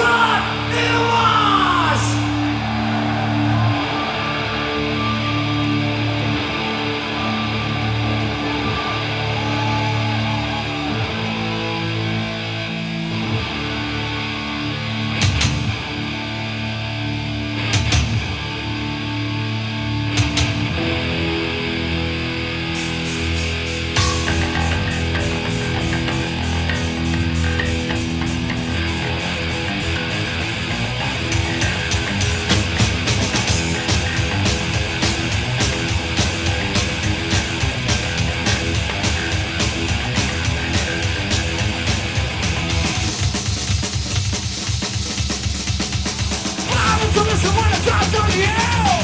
God it was. To listen when I drive down the hill.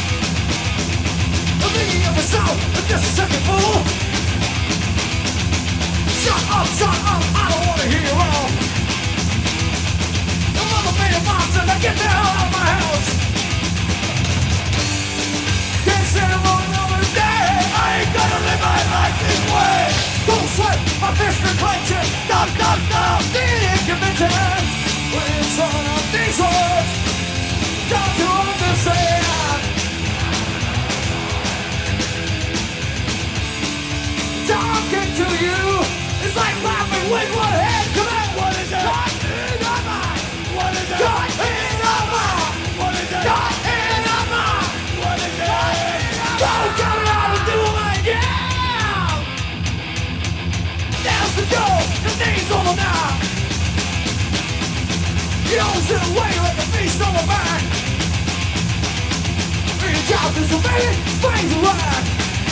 I'm thinking of myself, but just a second fool. Shut up, I don't wanna hear you all. The mother made a monster, now get the hell out of my house. Can't stand it for another day. I ain't gonna live my life this way. Don't sweat, my fist is clenching. Stop, being convincing. When it's on up these words. Don't you understand? Talking to you is like laughing with one hand. Come on, what is it? Got in my mind. What is it? Got in my mind. What is it? Got in my mind. What is it? Don't tell me how to do it. Yeah. There's the door. The thing's over now. You don't sit away like a feast on the back. Your job is surveying, brains are whack.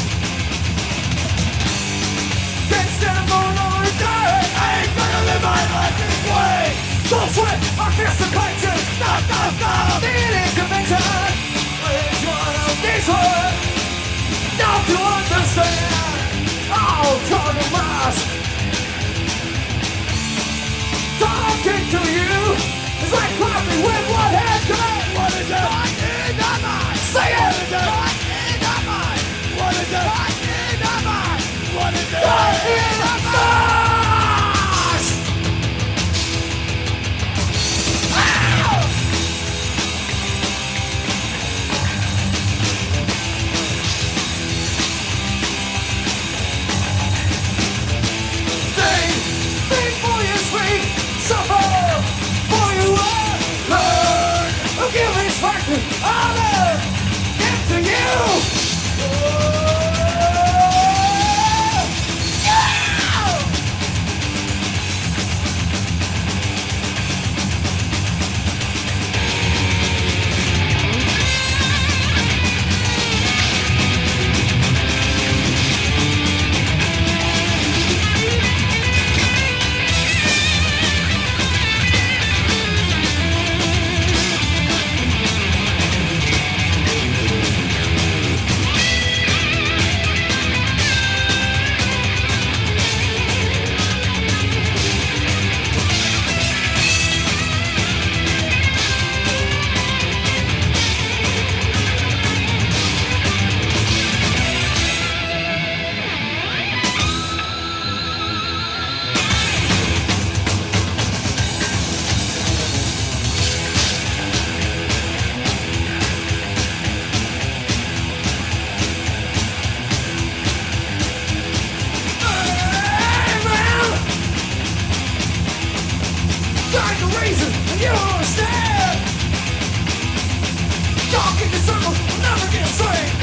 Can't stand for another day. I ain't gonna live my life this way. Don't sweat, I fist the clenching. Stop, being inconvenient. It's one of these words. Don't you understand? I'll turn the mask. Talking to you is like clapping with one hand. Come on, what is it? What in the mind? Say it! What is it? What in the mind? What is it? What in the mind? What is it? What in the mind? Think for you sweet, suffer for you learn. Give respect to others, give to you. Reason, and you don't understand. Talk in the circles, will never get straight.